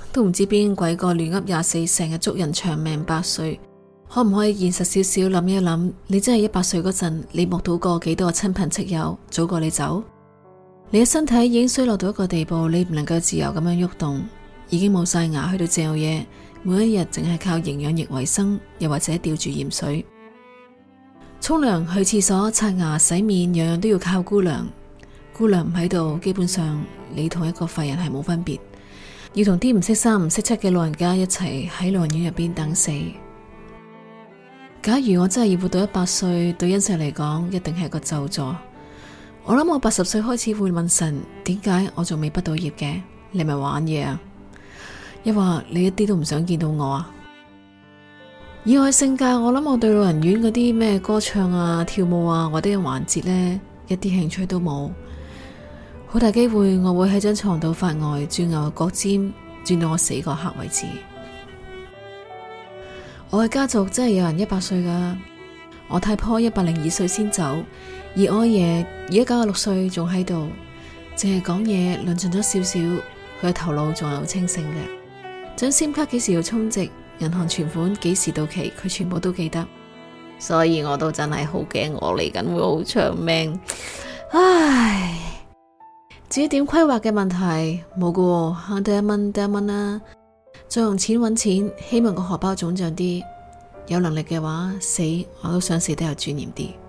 都唔知邊鬼個亂噏24，成日祝人長命百歲。可唔可以現實少少諗一諗？你真係100歲嗰陣，你目睹過幾多個親朋戚友早過你走？你嘅身體已經衰落到一個地步，你唔能夠自由咁樣喐動，已經冇晒牙去到嚼嘢，每一日淨係靠營養液為生，又或者吊住鹽水。沖涼、去廁所、刷牙、洗面，樣樣都要靠姑娘。姑娘唔喺度，基本上你同一個廢人係冇分別，要同啲唔識三唔識七嘅老人家一齊喺老人院入邊等死。假如我真係要活到100歲，對恩石嚟講一定係個咒詛。我諗我80歲開始會問神，點解我仲未畢到業嘅？你咪玩嘢啊？抑或你一啲都唔想見到我啊？以我嘅性格，我諗我對老人院嗰啲咩歌唱啊、跳舞啊或者環節呢，一啲興趣都冇。好大機會我會喺張床度發呆，轉牛角尖，轉到我死嗰刻為止。我嘅家族真係有人100歲噶，我太婆102歲先走，而我阿爺而家96歲仲喺度，淨係講嘢論盡咗少少，佢嘅頭腦仲係好清醒嘅。張 SIM 卡幾時要充值，銀行存款幾時到期，佢全部都記得，所以我都真係好驚我嚟緊會好長命。唉，至於點規劃嘅問題冇噶喎，慳得1蚊得1蚊啦。再用錢揾錢，希望個荷包腫脹啲。有能力嘅話，死我都想死得有尊嚴啲。